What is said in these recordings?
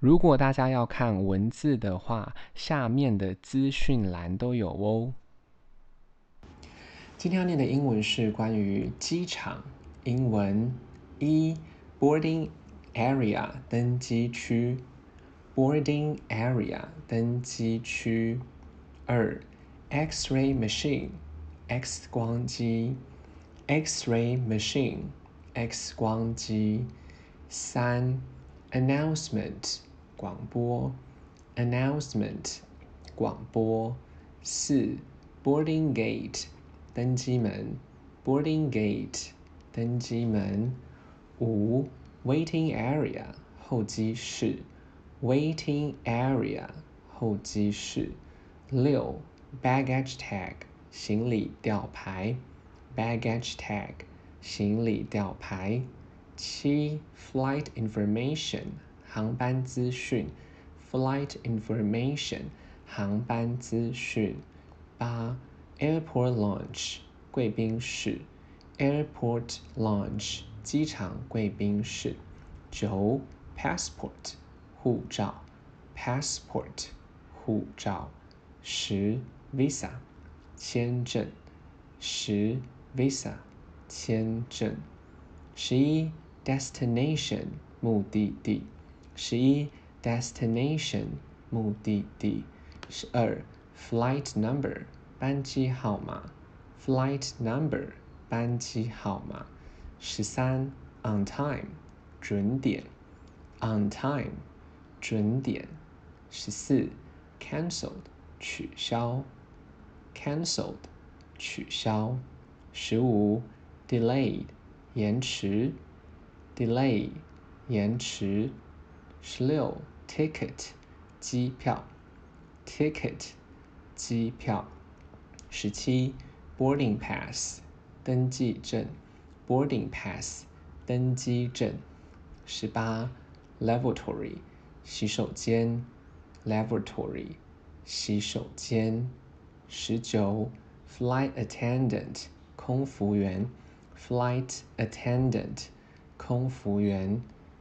如果大家要看文字的話，下面的資訊欄都有哦。今天要念的英文是關於機場，英文1 boarding area 登機區 boarding area 登機區2 X-ray machine X 光機 X-ray machine X 光機3 announcement 廣播 announcement 廣播4 boarding gate 登機門 boarding gate 登機門5 waiting area 候機室 waiting area 候機室6 baggage tag 行李吊牌 baggage tag 行李吊牌7 flight information 航班資訊 flight information 航班資訊8 airport lounge 貴賓室 airport lounge 機場貴賓室9 passport 護照 passport 護照10 visa 簽證10 visa 簽證11 destination 目的地11 destination 目的地12 flight number 班機號碼 flight number 班機號碼13 on time 準點 on time 準點14 cancelled 取消 cancelled 取消15 delayed 延遲 delay 延遲16 ticket 機票 ticket 機票17 boarding pass 登記證 boarding pass 登機證18 lavatory 洗手間 lavatory 洗手間19 flight attendant 空服員 flight attendant 空服員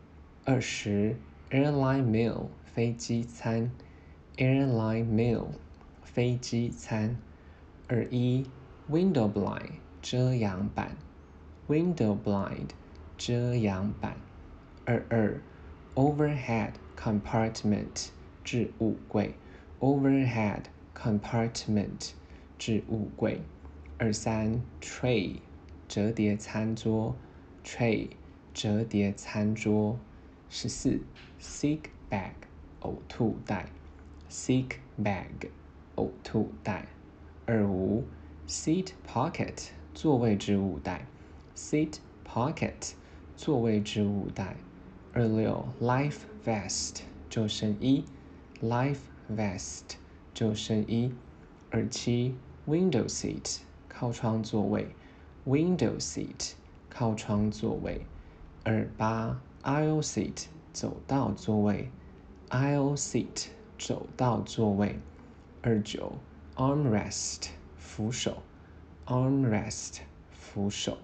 20 airline meal 飛機餐 airline meal 飛機餐21 window blind 遮陽板 window blind 遮陽板22 overhead compartment 置物櫃 overhead compartment 置物櫃23 tray 折疊餐桌 tray 折疊餐桌14 sick bag 嘔吐袋 sick bag 嘔吐袋25 seat pocket 座位置物袋 seat pocket 座位置物袋26 life vest 救生衣 life vest 救生衣27 window seat 靠窗座位 window seat 靠窗座位28 aisle seat 走道座位 aisle seat 走道座位29 armrest 扶手 armrest 扶手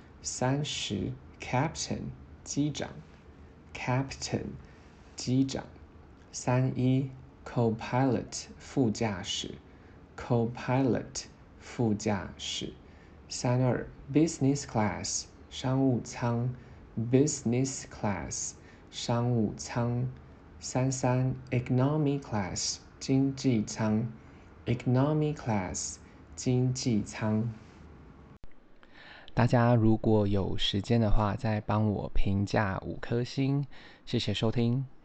30 captain 機長 captain 機長31 co-pilot 副駕駛 co-pilot 副駕駛32 business class 商務艙 business class 商務艙33 economy class 經濟艙 economy class 經濟艙。大家如果有時間的話，再幫我評價5顆星，謝謝收聽。